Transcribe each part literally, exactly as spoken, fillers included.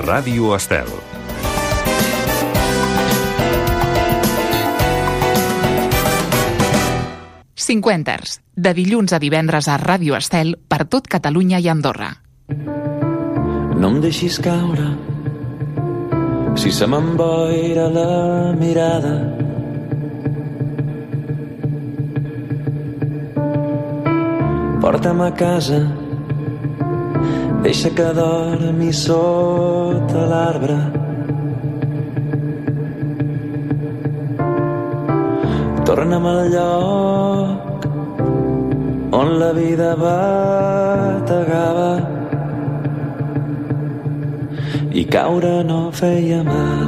Ràdio Estel. Cinquenters, de dilluns a divendres a Ràdio Estel per tot Catalunya i Andorra. No em deixis caure, si se m'emboira la mirada. Porta'm a casa, deixa que dormi sota l'arbre. Torna'm al lloc on la vida bategava i caure no feia mal.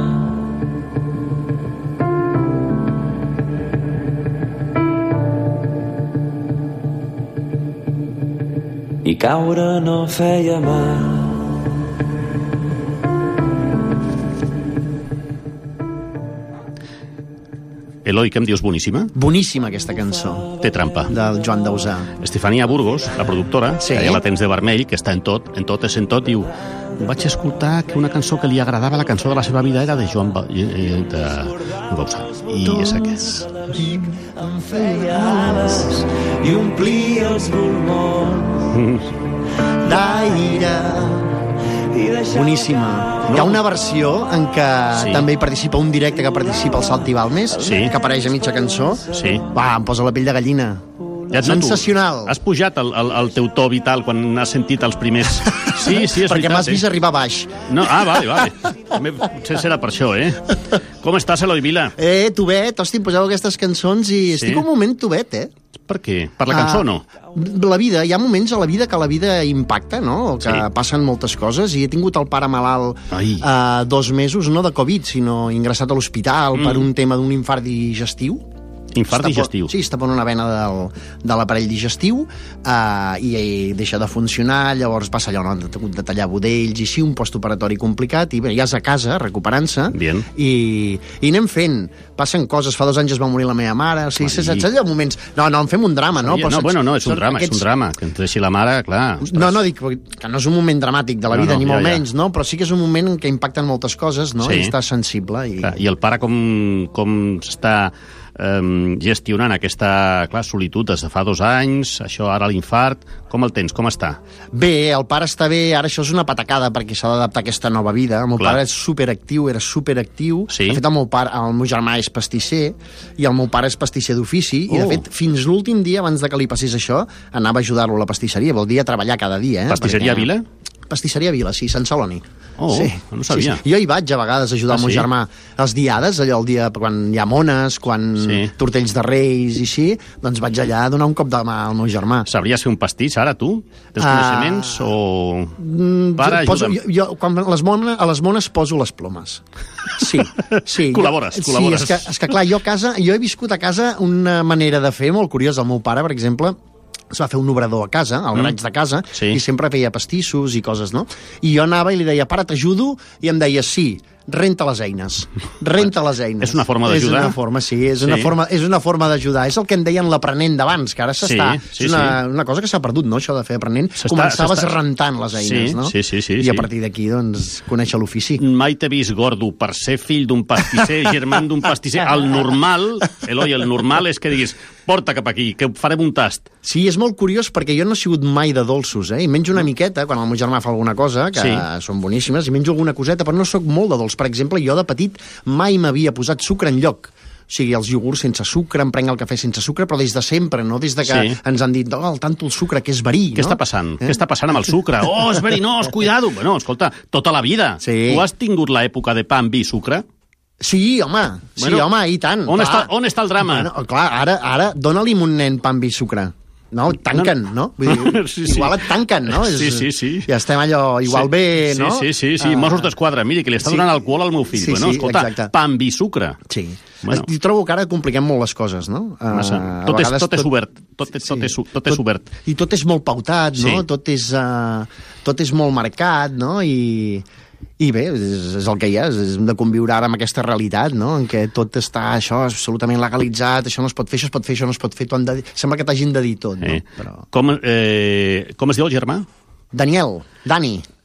I caure no feia mal. Eloi, què em dius? Boníssima? Boníssima aquesta cançó. Té trampa. Del Joan Dausà. Estefania Burgos, la productora, sí. que ja la tens de vermell, que està en tot, en tot és en tot, diu, vaig escoltar que una cançó que li agradava, la cançó de la seva vida, era de Joan ba... de... Dausà. I és aquest. Em feia ales i omplia els pulmons d'aire. Boníssima. No. Hi ha una versió en què sí. també hi participa un directe que participa el Salti Balmes, sí. que apareix a mitja cançó. Sí. Va, em posa la pell de gallina. Ja sensacional. Has pujat el, el, el teu to vital quan has sentit els primers... Sí, sí, és perquè m'has eh? vist arribar baix. No, ah, vale, vale. Potser serà per això, eh? Com estàs, Eloi Vila? Eh, tovet, hosti, em poseu aquestes cançons i sí? estic un moment tovet, eh? Per què? Per la cançó, ah, no? La vida, hi ha moments a la vida que la vida impacta, no? Que sí. passen moltes coses, i he tingut el pare malalt uh, dos mesos, no de Covid, sinó ingressat a l'hospital mm. per un tema d'un infart digestiu. Infart està digestiu. Sí, està per una vena del, de l'aparell digestiu uh, i, i deixa de funcionar, llavors passa allò, no? Han hagut de tallar budells i sí, un postoperatori complicat, i bé, ja és a casa, recuperant-se, i, i anem fent. Passen coses, fa dos anys es va morir la meva mare, o sigui, saps allò moments... No, no, en fem un drama, no? Però, no, bueno, no, és un drama, aquests... és un drama, que ens deixi la mare, clar. Ostres. No, no, dic que no és un moment dramàtic de la vida, no, no, ni molt ja, ja. menys, no? Però sí que és un moment en què impacten moltes coses, no? Sí. I està sensible. I, clar, i el pare com, com està... Um, gestionant aquesta, clar, solitud des de fa dos anys, això ara l'infart, com el tens, com està? Bé, el pare està bé, ara això és una patacada perquè s'ha d'adaptar a aquesta nova vida. El meu clar. pare és superactiu, era superactiu. Sí? De fet, el meu, pare, el meu germà és pastisser i el meu pare és pastisser d'ofici, oh. i de fet, fins l'últim dia, abans de que li passés això, anava a ajudar-lo a la pastisseria, vol dir a treballar cada dia. Eh? Pastisseria perquè... Vila? Pastisseria Vila, sí, Sant Celoni. Oh, sí. no sabia. Sí, sí. Jo hi vaig a vegades a ajudar ah, el meu sí? germà els diades, allò el dia quan hi ha mones, quan sí. tortells de reis i així, doncs vaig allà a donar un cop de mà al meu germà. Sabries fer un pastís ara, tu? Tens uh, coneixements o... Para, poso, jo, jo, quan les mones, a les mones poso les plomes. Sí, sí. Col·labores, jo, col·labores. Sí, és que, és que clar, jo a casa, jo he viscut a casa una manera de fer molt curiosa. El meu pare, per exemple, es va fer un obrador a casa, al garatge de casa, sí. i sempre feia pastissos i coses, no? I jo anava i li deia, pare, t'ajudo? I em deia, sí, renta les eines. Renta les eines. És una forma d'ajudar? És una forma, sí, és, sí. Una, forma, és una forma d'ajudar. És el que en deien l'aprenent d'abans, que ara s'està... Sí, sí, és una, sí. una cosa que s'ha perdut, no?, això de fer aprenent. Començaves rentant les eines, sí, no? Sí, sí, sí. I a sí. partir d'aquí, doncs, conèixer l'ofici. Mai t'he vist gordo per ser fill d'un pastisser, germà d'un pastisser. El normal, Eloi, el normal és que diguis, porta cap aquí, que farem un tast. Sí, és molt curiós perquè jo no he sigut mai de dolços, eh? I menjo una miqueta quan el meu germà fa alguna cosa, que sí. són boníssimes, i menjo alguna coseta, però no sóc molt de dolç. Per exemple, jo de petit mai m'havia posat sucre enlloc. O sigui, els iogurts sense sucre, em prenc el cafè sense sucre, però des de sempre, no? Des de que sí. ens han dit, oh, el tanto el sucre, que és verí, Què no? està passant? Eh? Què està passant amb el sucre? Oh, és verinós, cuidado! Bueno, escolta, tota la vida. Sí. Tu has tingut l'època de pa amb vi i sucre? Sí, home, sí, bueno, home, i tant. On està, on està el drama? Bueno, clar, ara, ara dona-li un nen pa amb vi i sucre. No, tanquen, no? Vull dir, sí, sí. Igual et tanquen, no? Sí, sí, sí. Ja estem allò, igual sí. bé, no? Sí, sí, sí, sí. Uh, Mossos d'Esquadra, miri, que li està sí. donant alcohol al meu fill. Sí, bueno, sí, escolta, exacte. pa amb vi i sucre. Sí. Bueno. I trobo que ara compliquem molt les coses, no? Massa. Uh, tot, és, tot és obert. Tot, és, tot, és, tot és obert. I tot és molt pautat, no? Sí. Tot és, uh, tot és molt marcat, no? I... I bé, és, és el que hi ha, és de conviure ara amb aquesta realitat, no?, en què tot està, això, absolutament legalitzat, això no es pot fer, això es pot fer, això no es pot fer, de... sembla que t'hagin de dir tot, no? Eh. Però... Com, eh, com es diu el germà? Daniel, Dani.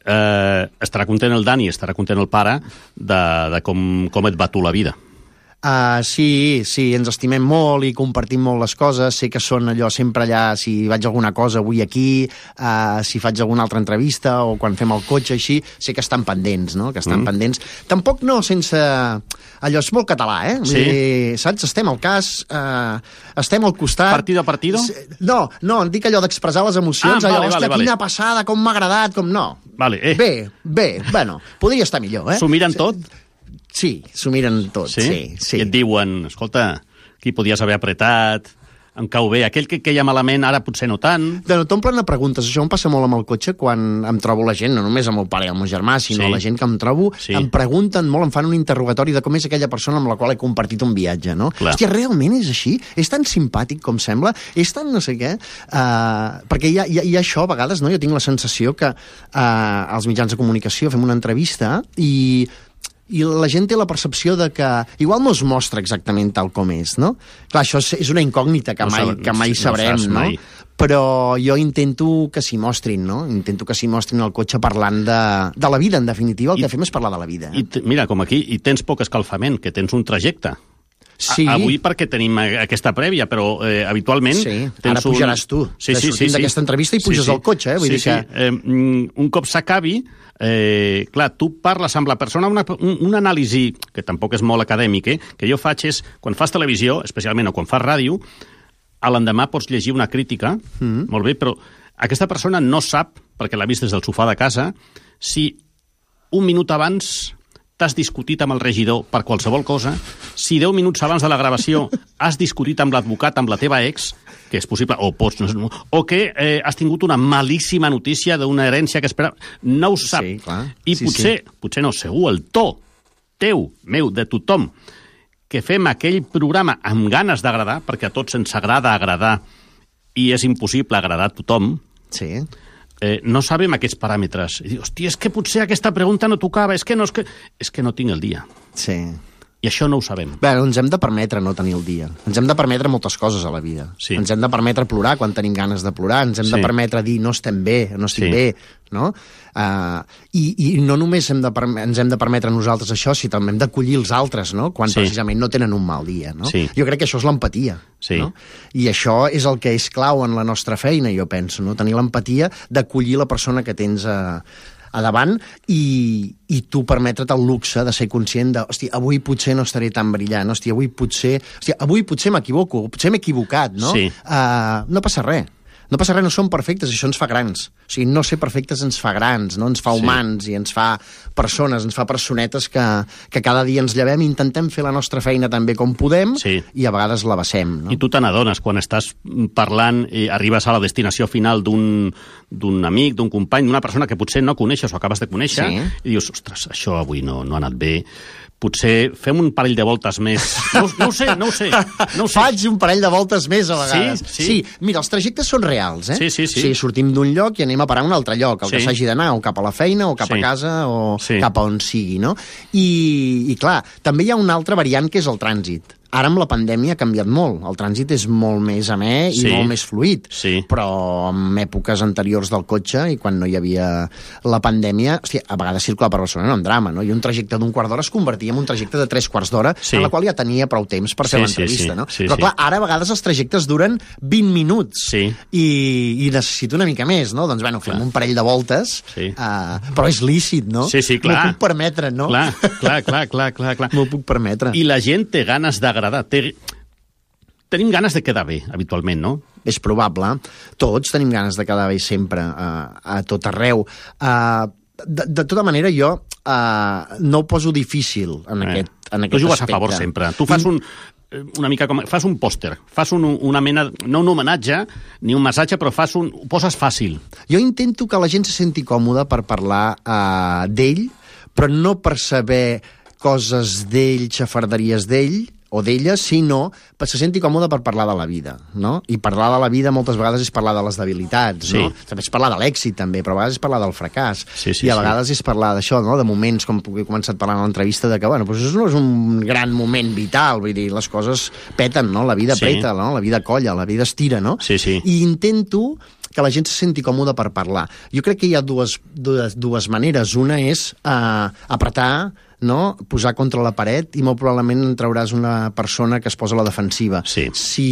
eh, estarà content el Dani, estarà content el pare de, de com, com et va tu la vida. Uh, sí, sí, ens estimem molt i compartim molt les coses. Sé que són allò sempre allà, si vaig a alguna cosa avui aquí, uh, si faig alguna altra entrevista o quan fem el cotxe, així, sé que estan pendents, no? Que estan mm. pendents. Tampoc no sense... Allò és molt català, eh? Sí. Vull dir, saps? Estem al cas, uh, estem al costat... Partido a partido? No, no, em dic allò d'expressar les emocions, ah, allò, vale, hòstia, vale, quina vale. passada, com m'ha agradat, com no. Vale, eh. Bé, bé, bueno, podria estar millor, eh? S'ho miren tot? Sí, s'ho miren tot, sí? sí, sí. I et diuen, escolta, aquí podies haver apretat, em cau bé, aquell que queia malament ara potser no tant... No, t'omplen de preguntes, això em passa molt amb el cotxe quan em trobo la gent, no només amb el pare i el meu germà, sinó sí. la gent que em trobo, sí. em pregunten molt, em fan un interrogatori de com és aquella persona amb la qual he compartit un viatge, no? Clar. Hòstia, realment és així? És tan simpàtic com sembla? És tan no sé què? Uh, perquè hi ha, hi, ha, hi ha això, a vegades, no? Jo tinc la sensació que uh, als mitjans de comunicació fem una entrevista i... i la gent té la percepció de que igual no es mostra exactament tal com és, no? Clar, això és una incògnita que no mai, saben, que mai no sabrem, no? Mai. Però jo intento que s'hi mostrin, no? Intento que s'hi mostrin al cotxe parlant de, de la vida, en definitiva. El I, que fem és parlar de la vida. Eh? I mira, com aquí, i tens poc escalfament, que tens un trajecte. Sí. A, avui perquè tenim aquesta prèvia, però eh, habitualment... Sí, tens ara pujaràs tu. Sí, sí, sortim sí, d'aquesta sí. entrevista i puges sí, sí. al cotxe, eh? Vull sí, dir que... sí. Eh, un cop s'acabi, eh, clar, tu parles amb la persona, una, un, un anàlisi, que tampoc és molt acadèmic, eh, que jo faig és, quan fas televisió, especialment, o quan fas ràdio, a l'endemà pots llegir una crítica, mm. molt bé, però aquesta persona no sap, perquè l'ha vist des del sofà de casa, si un minut abans t'has discutit amb el regidor per qualsevol cosa, si deu minuts abans de la gravació has discutit amb l'advocat, amb la teva ex, que és possible, o pots, no, o que eh, has tingut una malíssima notícia d'una herència que espera... No ho sap. Sí, clar. I sí, potser, sí. potser no, segur, el to teu, meu, de tothom, que fem aquell programa amb ganes d'agradar, perquè a tots ens agrada agradar i és impossible agradar a tothom, sí. Eh, no sabem aquests paràmetres. I dius, hòstia, és que potser aquesta pregunta no tocava, és que no, és que, és que no tinc el dia. Sí. I això no ho sabem. Bé, ens hem de permetre no tenir el dia. Ens hem de permetre moltes coses a la vida. Sí. Ens hem de permetre plorar quan tenim ganes de plorar, ens hem sí. de permetre dir no estem bé, no estic sí. bé, no? Uh, i, I no només hem de ens hem de permetre nosaltres això, sinó també hem d'acollir els altres, no? Quan sí. precisament no tenen un mal dia, no? Sí. Jo crec que això és l'empatia, sí. no? I això és el que és clau en la nostra feina, jo penso, no? Tenir l'empatia d'acollir la persona que tens a... a davant i, i tu permetre't el luxe de ser conscient de, hòstia, avui potser no estaré tan brillant, hòstia, avui potser, hòstia, avui potser m'equivoco, potser m'he equivocat, no? Sí. Uh, no passa res. No passa res, no som perfectes, això ens fa grans. O sigui, no ser perfectes ens fa grans, no? Ens fa humans sí. i ens fa persones, ens fa personetes que, que cada dia ens llevem i intentem fer la nostra feina també com podem sí. i a vegades la vessem, no? I tu te n'adones quan estàs parlant i arribes a la destinació final d'un d'un amic, d'un company, d'una persona que potser no coneixes o acabes de conèixer sí. i dius, ostres, això avui no, no ha anat bé. Potser fem un parell de voltes més. No, no ho sé, no ho sé. No ho sé. Faig un parell de voltes més a vegades. Sí, sí. sí, mira, els trajectes són reals, eh? Sí, sí, sí. O sigui, sortim d'un lloc i anem a parar a un altre lloc, el sí. que s'hagi d'anar, o cap a la feina, o cap sí. a casa, o sí. cap a on sigui, no? I, I clar, també hi ha una altra variant que és el trànsit. Ara amb la pandèmia ha canviat molt. El trànsit és molt més amè i sí. molt més fluid. Sí. Però en èpoques anteriors del cotxe i quan no hi havia la pandèmia, hòstia, a vegades circular per Barcelona era un drama, no? I un trajecte d'un quart d'hora es convertia en un trajecte de tres quarts d'hora sí. en la qual ja tenia prou temps per fer sí, l'entrevista, sí, sí. no? Sí, Però sí. clar, ara a vegades els trajectes duren vint minuts sí. i, i necessito una mica més, no? Doncs bueno, fem clar. un parell de voltes, sí. uh, però és lícit, no? Sí, sí, clar. M'ho puc permetre, no? Clar, clar, clar, clar, clar, clar. M'ho puc permetre. I la gent té ganes d'agradar, té... Tenim ganes de quedar bé, habitualment, no? És probable. Tots tenim ganes de quedar bé sempre, uh, a tot arreu. Uh, de, de tota manera, jo uh, no ho poso difícil en eh. aquest, en aquest tu jugues aspecte. a favor sempre. Tu fas un... una mica com... Fas un pòster, fas un, una mena... No un homenatge, ni un massatge, però fas un... Ho poses fàcil. Jo intento que la gent se senti còmoda per parlar uh, d'ell, però no per saber coses d'ell, xafarderies d'ell, o d'ella, sinó que se senti còmode per parlar de la vida, no? I parlar de la vida moltes vegades és parlar de les debilitats, sí. no? També és parlar de l'èxit, també, però a vegades és parlar del fracàs. Sí, sí, I a vegades sí. és parlar d'això, no? De moments, com he començat parlant a l'entrevista, de que, bueno, doncs això no és un gran moment vital, vull dir, les coses peten, no? La vida sí. peta, no? La vida colla, la vida estira, no? Sí, sí. I intento que la gent se senti còmoda per parlar. Jo crec que hi ha dues, dues, dues maneres. Una és uh, apretar, no? Posar contra la paret i molt probablement trauràs una persona que es posa a la defensiva. Sí.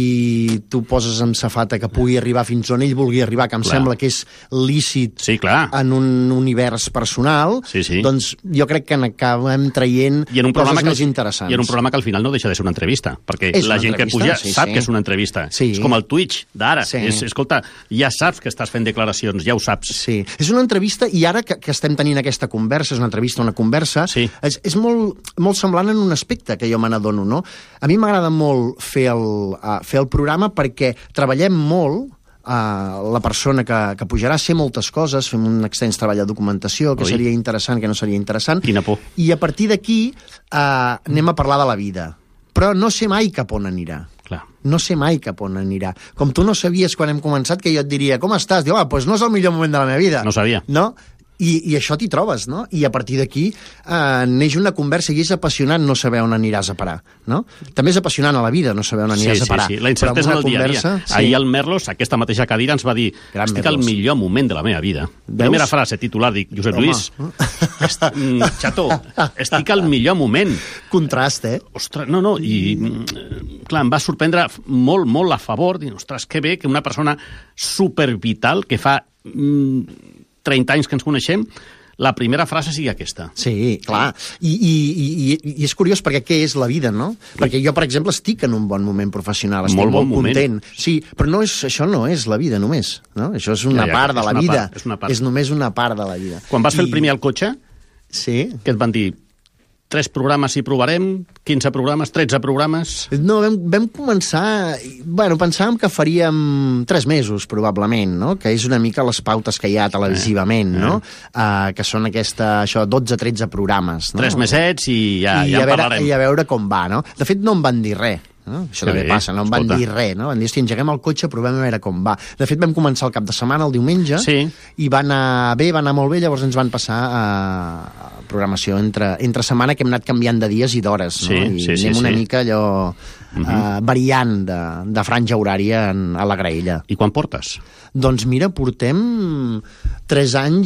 Si tu poses en safata que pugui arribar fins on ell vulgui arribar, que em clar. Sembla que és lícit sí, clar. En un univers personal, sí, sí. doncs jo crec que n'acabem traient I en un coses que, més interessants. I en un programa que al final no deixa de ser una entrevista, perquè és la gent que puja sí, sap sí. que és una entrevista. Sí. És com el Twitch d'ara. Sí. És, escolta, ja saps que estàs fent declaracions, ja ho saps. Sí, és una entrevista i ara que, que estem tenint aquesta conversa, és una entrevista, una conversa, sí. és, és molt, molt semblant en un aspecte que jo me n'adono, no? A mi m'agrada molt fer el, uh, fer el programa perquè treballem molt. Uh, la persona que, que pujarà a ser moltes coses, fem un extens treball de documentació, que Oi. Seria interessant, que no seria interessant. Quina por. I a partir d'aquí uh, anem a parlar de la vida. Però no sé mai cap on anirà. Clar. No sé mai cap on anirà. Com tu no sabies quan hem començat que jo et diria com estàs? Diu, ah, doncs no és el millor moment de la meva vida. No sabia. No? I, i això t'hi trobes, no? I a partir d'aquí eh, neix una conversa i és apassionant no saber on aniràs a parar, no? També és apassionant a la vida no saber on aniràs sí, a parar. Sí, sí, la incertesa del dia a dia. Sí. Ahir el Merlos, aquesta mateixa cadira, ens va dir Gran estic Merlos. Al millor moment de la meva vida. Veus? Primera frase, titular, dic, Josep Home. Lluís, est, mm, xato, estic al millor moment. Contrast, eh? Ostres, no, no, i mm, clar, em va sorprendre molt, molt a favor, dir, ostres, que bé que una persona supervital, que fa mm, trenta anys que ens coneixem, la primera frase sigui aquesta. Sí, clar. I, i, i, i és curiós perquè què és la vida, no? Perquè jo, per exemple, estic en un bon moment professional, estic molt, molt bon content. Moment. Sí, però no és, això no és la vida només, no? Això és una ja, ja, part de la vida. Part, és, una part. És només una part de la vida. Quan vas I... fer el primer al cotxe, sí. què et van dir? Tres programes hi provarem, quinze programes, tretze programes... No, vam, vam començar... Bueno, pensàvem que faríem tres mesos, probablement, no? Que és una mica les pautes que hi ha televisivament, eh, no? Eh. Uh, que són aquesta, això, dotze tretze programes, no? Tres mesets i ja, I ja en veure, parlarem. I a veure com va, no? De fet, no em van dir res. No? Això sí, també passa, no em van escolta. dir res, no? Van dir, hosti, engeguem el cotxe, provem a veure com va. De fet, vam començar el cap de setmana, el diumenge, sí. i va anar bé, va anar molt bé, llavors ens van passar a, a programació entre, entre setmana, que hem anat canviant de dies i d'hores, no? Sí, I sí, anem sí, una sí. mica allò uh-huh. uh, variant de, de franja horària en, a la graella. I quan portes? Doncs mira, portem tres anys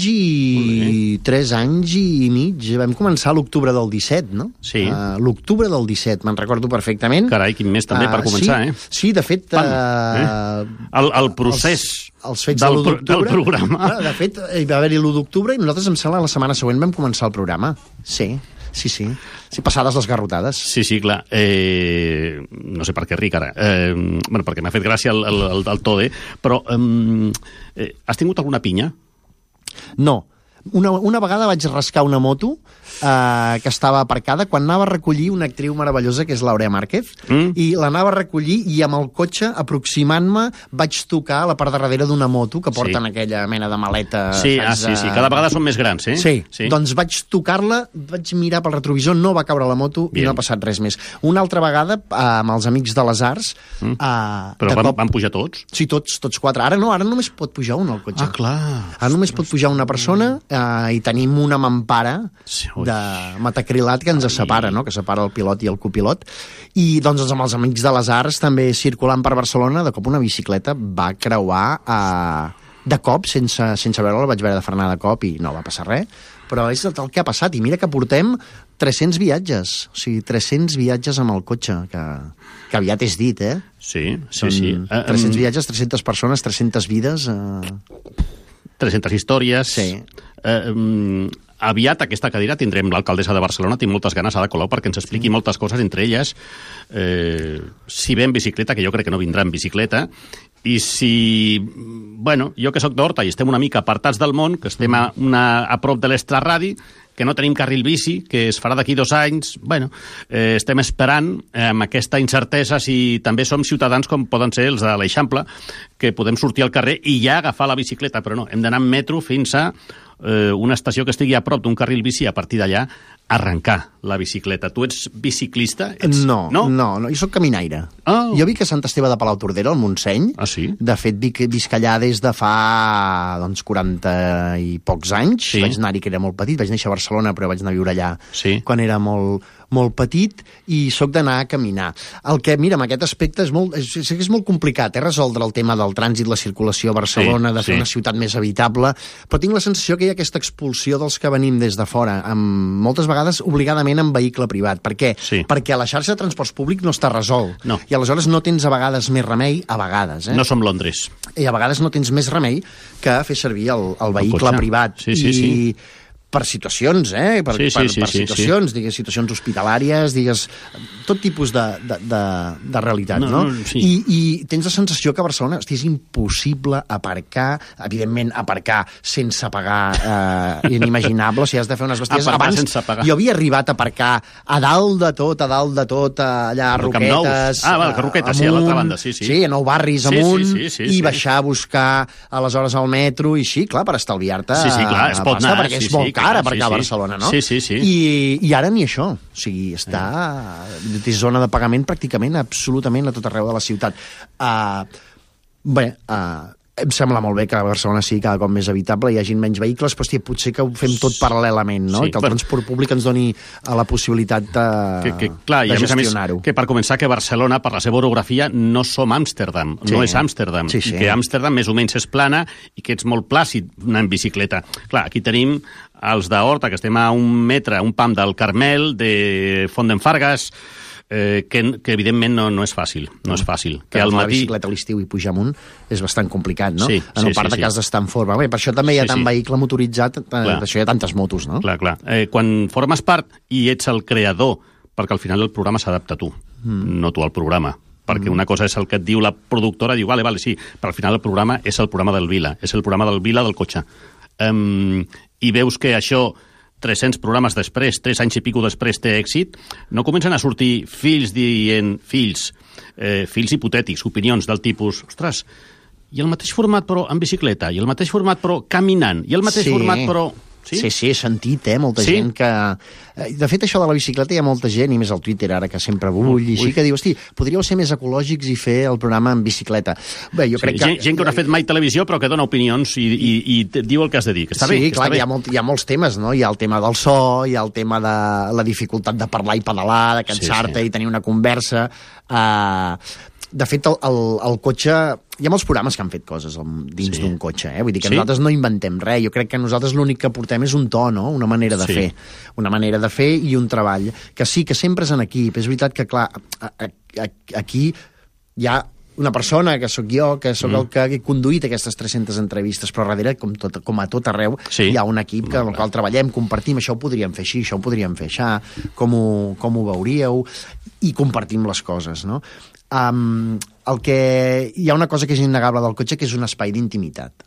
i tres anys i mig. Vam començar a l'octubre del disset, no? Sí. Uh, l'octubre del disset, me'n recordo perfectament. Carai, quin mes també uh, per començar, sí, eh? Sí, de fet... Pam, eh? el, el procés els, els fets del, de del programa. De fet, hi va haver-hi l'u d'octubre i nosaltres, em sembla, la setmana següent vam començar el programa. Sí. Sí, sí. Sí, passades les garrotades. Sí, sí, clar. Eh, no sé per què ric ara. Eh, bueno, perquè m'ha fet gràcia el, el, el, el to, eh? Però eh, has tingut alguna pinya? No. Una, una vegada vaig rascar una moto eh, que estava aparcada quan anava a recollir una actriu meravellosa que és l'Aurea Márquez, mm. i l'anava a recollir i amb el cotxe, aproximant-me, vaig tocar a la part de darrere d'una moto que porten sí. aquella mena de maleta. Sí, ah, sí, sí, cada vegada són més grans, eh? Sí, sí. Doncs vaig tocar-la, vaig mirar pel retrovisor, no va caure la moto Bien. I no ha passat res més. Una altra vegada, eh, amb els amics de les Arts... Mm. Eh, Però van, cop... van pujar tots? Sí, tots, tots quatre. Ara no, ara només pot pujar un al cotxe. Ah, clar. Ara només pot pujar una persona... Uh, i tenim una mampara sí, de metacrilat que ens separa, no? Que separa el pilot i el copilot. I doncs amb els amics de les Arts també circulant per Barcelona, de cop una bicicleta va creuar uh, de cop, sense, sense veure-la, la vaig veure de frenar de cop i no va passar res. Però és el que ha passat. I mira que portem tres-cents viatges. O sigui, tres-cents viatges amb el cotxe, que, que aviat és dit, eh? Sí, sí, Són sí. tres-cents viatges, tres-centes persones, tres-centes vides... Uh... tres-centes històries... Sí. Eh, um, aviat aquesta cadira tindrem l'alcaldessa de Barcelona, tinc moltes ganes, Ada Colau, perquè ens expliqui sí. moltes coses, entre elles eh, si ve en bicicleta, que jo crec que no vindrà en bicicleta, i si, bueno, jo que sóc d'Horta i estem una mica apartats del món, que estem a, una, a prop de l'extraradi, que no tenim carril bici, que es farà d'aquí dos anys, bueno, eh, estem esperant eh, amb aquesta incertesa si també som ciutadans com poden ser els de l'Eixample, que podem sortir al carrer i ja agafar la bicicleta, però no, hem d'anar en metro fins a eh, una estació que estigui a prop d'un carril bici i a partir d'allà arrencar la bicicleta. Tu ets biciclista? Ets... No, no, no, no, jo soc caminaire. Oh. Jo vic a Sant Esteve de Palautordera, al Montseny. Ah, sí? De fet, vic, visc allà des de fa doncs, quaranta i pocs anys. Sí. Vaig anar-hi que era molt petit, vaig néixer a Barcelona, però vaig anar a viure allà sí. quan era molt, molt petit, i sóc d'anar a caminar. El que, mira, en aquest aspecte és molt, és, és molt complicat, eh, resoldre el tema del trànsit, la circulació a Barcelona, sí, de fer sí. una ciutat més habitable, però tinc la sensació que hi ha aquesta expulsió dels que venim des de fora, amb, moltes vegades obligadament en vehicle privat. Per què? Sí. Perquè a la xarxa de transports públic no està resolt. No. I aleshores no tens a vegades més remei, a vegades. Eh? No som Londres. I a vegades no tens més remei que fer servir el, el vehicle el privat. Sí, sí, I sí. per situacions, eh? Per, sí, sí, per, sí, per situacions, sí. digues, situacions hospitalàries, digues, tot tipus de, de, de, de realitat, no? no? no sí. I, I tens la sensació que a Barcelona hosti, és impossible aparcar, evidentment aparcar sense pagar, eh, inimaginable, o sigui, has de fer unes bestieses. Aparcar Abans, sense pagar. Jo havia arribat a aparcar a dalt de tot, a dalt de tot, allà a Roquetes... Ah, val, que Roquetes, sí, a l'altra banda, sí, sí. Sí, a Nou Barris sí, amunt, sí, sí, sí, i sí. baixar a buscar aleshores al metro, i així, clar, per estalviar-te sí, sí, clar, es pot pasta, anar, perquè sí, és molt sí, car clar, aparcar sí, a sí. Barcelona, no? Sí, sí, sí. I, i ara ni això. O sigui, està... té zona de pagament pràcticament absolutament a tot arreu de la ciutat. Uh, bé, uh, em sembla molt bé que Barcelona sigui cada cop més habitable, hi hagi menys vehicles, però hòstia, potser que ho fem tot paral·lelament, no? Sí, I que el per... transport públic ens doni la possibilitat de, que, que, clar, de gestionar-ho. Que per començar, que Barcelona, per la seva orografia, no som Amsterdam, sí. no és Amsterdam, sí, sí. i que Amsterdam més o menys és plana i que ets molt plàcid anar en bicicleta. Clar, aquí tenim els d'Horta, que estem a un metre, un pam del Carmel, de Font d'en Fargues, Eh, que, que evidentment no, no és fàcil, no és fàcil. Que al matí... la bicicleta a l'estiu i pujar amunt és bastant complicat, no? Sí, en sí, un part sí, de sí. cas d'estar en forma. Bé, per això també hi ha sí, tant sí. vehicle motoritzat, per això hi ha tantes motos, no? Clar, clar. Eh, quan formes part i ets el creador, perquè al final el programa s'adapta a tu, mm. no tu al programa. Perquè una cosa és el que et diu la productora, diu, vale, vale, sí, però al final el programa és el programa del Vila, és el programa del Vila del cotxe. Um, I veus que això... tres-cents programes després, tres anys i pico després té èxit, no comencen a sortir fills dient, fills, eh, fills hipotètics, opinions del tipus, ostres, i el mateix format però en bicicleta, i el mateix format però caminant, i el mateix sí. format però... Sí? sí, sí, he sentit, eh, molta sí? gent que... De fet, això de la bicicleta hi ha molta gent, i més al Twitter ara, que sempre bull, i així, que diu, hosti, podríeu ser més ecològics i fer el programa en bicicleta. Bé, jo sí, crec que... Gent, gent que no ha fet mai televisió, però que dona opinions i, i, i diu el que has de dir, que està sí, bé. Sí, clar, està bé. Hi, ha molt, hi ha molts temes, no? Hi ha el tema del so, hi ha el tema de la dificultat de parlar i pedalar, de cansar-te sí, sí. i tenir una conversa... Uh, de fet, el, el, el cotxe... Hi ha molts programes que han fet coses dins sí. d'un cotxe, eh? Vull dir que sí? nosaltres no inventem res. Jo crec que nosaltres l'únic que portem és un to, no? Una manera de sí. fer. Una manera de fer i un treball. Que sí, que sempre és en equip. És veritat que, clar, a, a, a, aquí hi ha una persona, que sóc jo, que sóc mm. el que he conduït aquestes tres-centes entrevistes, però darrere, com, tot, com a tot arreu, sí. hi ha un equip que, amb el qual treballem, compartim, això ho podríem fer així, això ho podríem fer així, com ho, com ho veuríeu, i compartim les coses, no? Um, el que... Hi ha una cosa que és innegable del cotxe, que és un espai d'intimitat.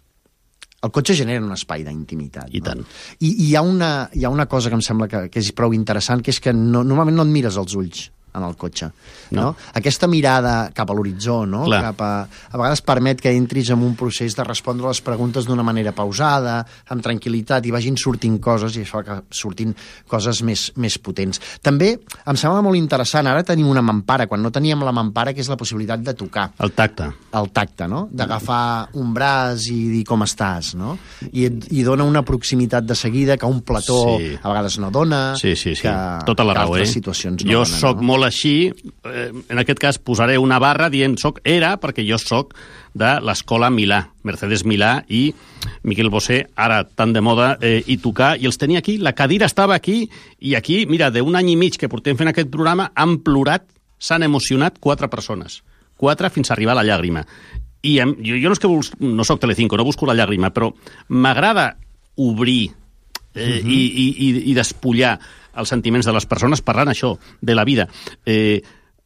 El cotxe genera un espai d'intimitat. I no? tant. I, i hi, ha una, hi ha una cosa que em sembla que, que és prou interessant, que és que no, normalment no et mires als ulls en el cotxe. No. No? Aquesta mirada cap a l'horitzó, no? Cap a, a vegades permet que entris en un procés de respondre les preguntes d'una manera pausada, amb tranquil·litat, i vagin sortint coses, i això que sortint coses més, més potents. També em sembla molt interessant, ara tenim una mampara, quan no teníem la mampara, que és la possibilitat de tocar. El tacte. El tacte, no? D'agafar un braç i dir com estàs, no? I, i dona una proximitat de seguida que un plató sí. a vegades no dona, sí, sí, sí. que, tota la que raó, altres eh? situacions no jo donen. Soc no? molt així, eh, en aquest cas posaré una barra dient soc era, perquè jo soc de l'escola Milà, Mercedes Milà i Miquel Bosé, ara tan de moda, eh, i tocar, i els tenia aquí, la cadira estava aquí, i aquí, mira, d'un any i mig que portem fent aquest programa, han plorat, s'han emocionat quatre persones, quatre fins a arribar a la llàgrima. I em, jo, jo no és que bus, no soc Telecinco, no busco la llàgrima, però m'agrada obrir eh, uh-huh. i, i, i, i despullar els sentiments de les persones parlant això, de la vida. Eh,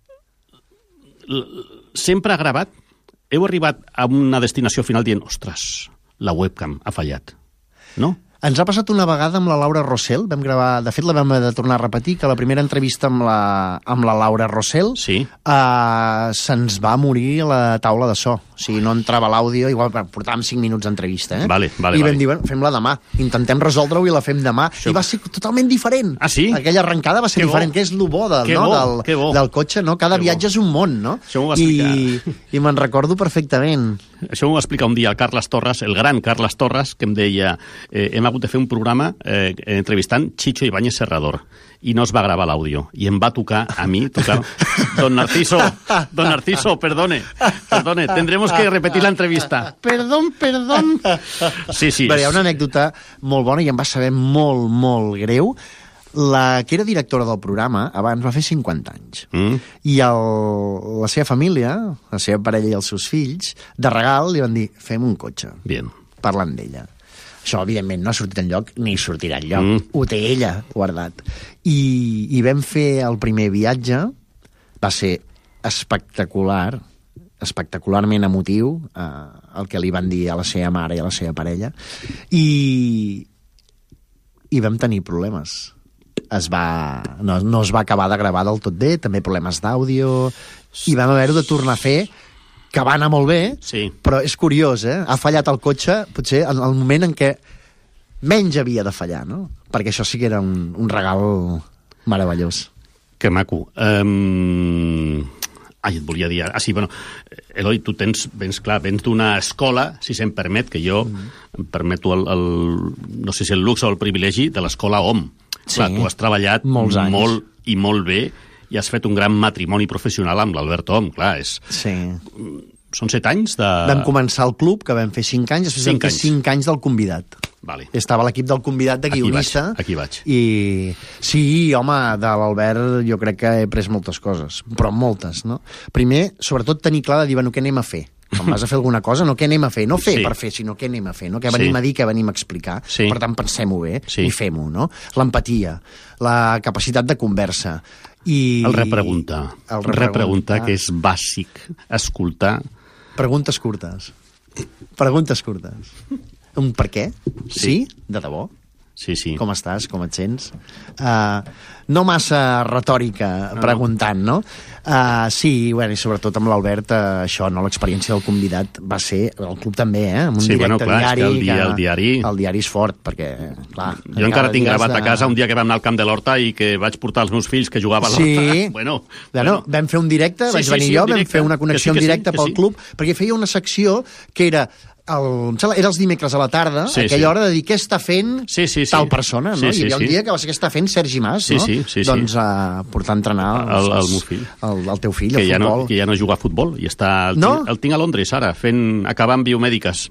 sempre ha gravat, heu arribat a una destinació final dient, ostres, la webcam ha fallat, no? Ens ha passat una vegada amb la Laura Rossell, vam gravar, de fet la vam de tornar a repetir, que la primera entrevista amb la, amb la Laura Rossell sí. uh, se'ns va morir la taula de so. O sigui, no entrava l'àudio, igual portàvem cinc minuts d'entrevista, eh? Vale, vale, I vam vale. dir, bueno, fem-la demà, intentem resoldre-ho i la fem demà. Això... I va ser totalment diferent. Ah, sí? Aquella arrencada va ser que diferent, bo. que és lo bo, del, que no? bo, del, que bo. del cotxe, no? Cada que viatge bo. és un món, no? Això m'ho va explicar. I, i me'n recordo perfectament. Això m'ho va explicar un dia el Carles Torres, el gran Carles Torres, que em deia eh, hem hagut de fer un programa eh, entrevistant Chicho Ibáñez Serrador i no es va gravar l'àudio. I em va tocar a mi, tocar... Don Narciso, don Narciso, perdone, perdone, tendremos que repetir la entrevista. Perdón, perdón. Sí, sí. Però hi ha una anècdota molt bona i em va saber molt, molt greu. La que era directora del programa abans va fer cinquanta anys. Mm. I el, la seva família, la seva parella i els seus fills, de regal li van dir, fem un cotxe. Bien. Parlant d'ella. Això, evidentment, no ha sortit enlloc, ni sortirà enlloc. Mm. Ho té ella guardat. I, I vam fer el primer viatge, va ser espectacular, espectacularment emotiu, eh, el que li van dir a la seva mare i a la seva parella, i, i vam tenir problemes. Es va, no, no es va acabar de gravar del tot bé, també problemes d'àudio, i vam haver-ho de tornar a fer, que va anar molt bé, sí. Però és curiós, eh? Ha fallat el cotxe, potser en el moment en què menys havia de fallar, no? Perquè això sí que era un, un regal meravellós. Que maco. Um... Ai, et volia dir... Ah, sí, bueno, Eloi, tu tens, vens, clar, vens d'una escola, si se'm permet, que jo mm. em permeto el, el... no sé si el luxe o el privilegi de l'escola O M. Sí, clar, tu has treballat molts anys. molt i molt bé i has fet un gran matrimoni professional amb l'Albert O M, clar, és... Sí. Són set anys de... Vam començar el club, que vam fer cinc anys, després cinc vam fer anys. cinc anys del convidat. Vale. Estava l'equip del convidat de guionista. Aquí vaig, aquí vaig. I sí, home, de l'Albert jo crec que he pres moltes coses, però moltes, no? Primer, sobretot tenir clar de dir, bueno, què anem a fer? Quan vas a fer alguna cosa, no què anem a fer? No fer sí. per fer, sinó què anem a fer, no? Què venim sí. a dir, què venim a explicar. Sí. Per tant, pensem-ho bé sí. i fem-ho, no? L'empatia, la capacitat de conversa. I... El repreguntar. El repreguntar, repreguntar, que és bàsic. Escoltar. Preguntes curtes. Preguntes curtes. Un per què? Sí. Sí? De debò? Sí, sí. Com estàs? Com et sents? Uh, no massa retòrica no, preguntant, no? Uh, sí, bueno, i sobretot amb l'Albert, uh, això, no? L'experiència del convidat va ser, el club també, eh? Amb un sí, directe bueno, clar, diari. És que el, dia, el diari... El diari és fort, perquè, clar... Jo encara tinc gravat de... a casa un dia que vam anar al camp de l'Horta i que vaig portar els meus fills que jugaven a l'Horta. Sí. Bueno, bueno, vam fer un directe, sí, vaig sí, venir sí, jo, un vam fer una connexió sí, en directe sí, pel sí. club, perquè feia una secció que era... El, em sembla, era els dimecres a la tarda, sí, aquella sí. hora de dir què està fent sí, sí, sí. tal persona, no? Sí, sí, Hi havia un sí. dia que va ser què està fent Sergi Mas, sí, no? sí, sí, sí. Doncs uh, portar a entrenar el, el, el meu fill. El, el teu fill, que el ja futbol. No, que ja no juga a futbol i està, el, no? tinc, el tinc a Londres ara, fent, acabant biomèdiques.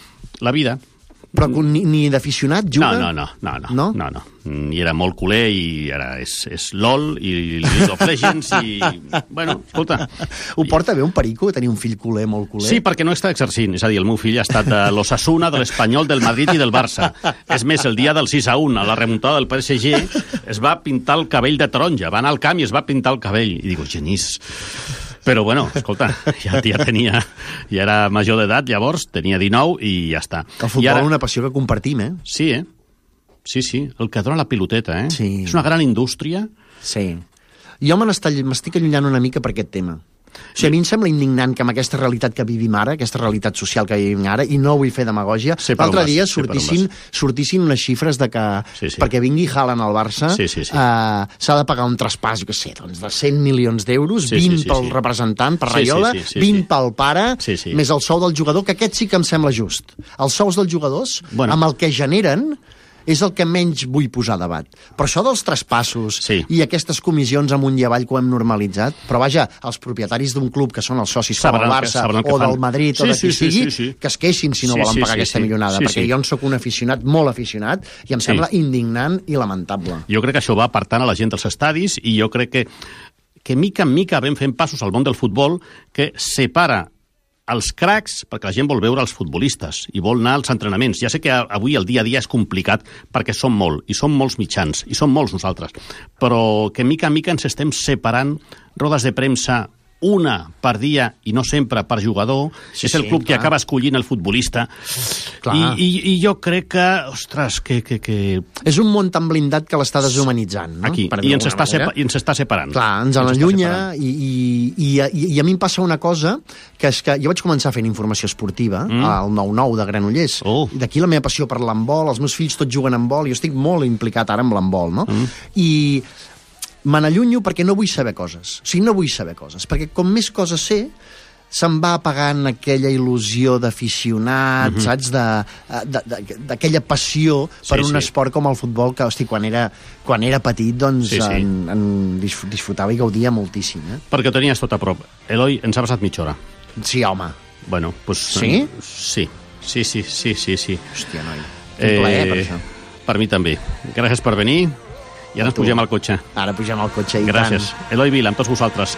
La vida. Però ni, ni d'aficionat juga? No, no, no, no, no? no, no. I era molt culer i ara és, és LOL i League of Legends i... Bueno, escolta... Ho porta bé un perico, tenir un fill culer, molt culer? Sí, perquè no està exercint. És a dir, el meu fill ha estat de l'Osasuna, de l'Espanyol, del Madrid i del Barça. És més, el dia del sis a u, a la remuntada del P S G, es va pintar el cabell de taronja. Va anar al camp i es va pintar el cabell. I dic, genís... Però, bueno, escolta, ja, ja tenia... Ja era major d'edat, llavors, tenia dinou i ja està. El futbol ara... és una passió que compartim, eh? Sí, eh? Sí, sí, el que dona la piloteta, eh? Sí. És una gran indústria. Sí. Jo me m'estic allunyant una mica per aquest tema. O sigui, a mi em sembla indignant que amb aquesta realitat que vivim ara, aquesta realitat social que vivim ara, i no vull fer demagògia, sí, l'altre dia sortissin, sortissin unes xifres de que sí, sí. perquè vingui Haaland al Barça sí, sí, sí. Uh, s'ha de pagar un traspàs, jo què sé, doncs de cent milions d'euros, sí, vint sí, sí, pel sí. representant, per sí, Raiola, sí, sí, sí, vint sí. pel pare, sí, sí. més el sou del jugador, que aquest sí que em sembla just. Els sous dels jugadors, bueno. amb el que generen, és el que menys vull posar a debat. Però això dels traspassos sí. i aquestes comissions amunt i avall que ho hem normalitzat, però vaja, els propietaris d'un club que són els socis com el Barça que, o del Madrid sí, o de qui sí, sigui, sí, sí, sí. que es queixin si no sí, volen sí, pagar sí, aquesta sí. milionada, sí, perquè sí. jo en sóc un aficionat, molt aficionat, i em sembla sí. indignant i lamentable. Jo crec que això va apartant a la gent dels estadis i jo crec que, que mica en mica vam fent passos al món del futbol que separa els cracs, perquè la gent vol veure els futbolistes i vol anar als entrenaments. Ja sé que avui el dia a dia és complicat perquè som molt, i som molts mitjans, i som molts nosaltres, però que mica en mica ens estem separant rodes de premsa una per dia i no sempre per jugador, sí, és el club sí, que clar. acaba escollint el futbolista. I, i, I jo crec que, ostres, que... que, que... És un món tan blindat que l'està deshumanitzant, no? Aquí, i ens, està sepa, i ens està separant. Clar, ens allunya i, i, i, i, i a mi em passa una cosa, que és que jo vaig començar fent informació esportiva mm. al nou nou de Granollers, oh. i d'aquí la meva passió per l'handbol, els meus fills tots juguen a handbol, jo estic molt implicat ara amb l'handbol, no? Mm. I me n'allunyo perquè no vull saber coses. O sigui, no vull saber coses, perquè com més coses sé, se'n va apagant aquella il·lusió d'aficionat, mm-hmm. saps? D'aquella passió per sí, un sí. esport com el futbol que, hosti, quan era, quan era petit, doncs, sí, sí. En, en disfrutava i gaudia moltíssim. Eh? Perquè ho tenies tot a prop. Eloi, ens ha passat mitja hora. Sí, home. Bueno, pues... Sí? Sí, sí, sí, sí, sí. sí. Hòstia, noi. Un eh, plaer, per això. Per mi també. Gràcies per venir. I ara ens pugem al cotxe. Ara pugem al cotxe i Gràcies. tant. Eloi Vila, amb tots vosaltres.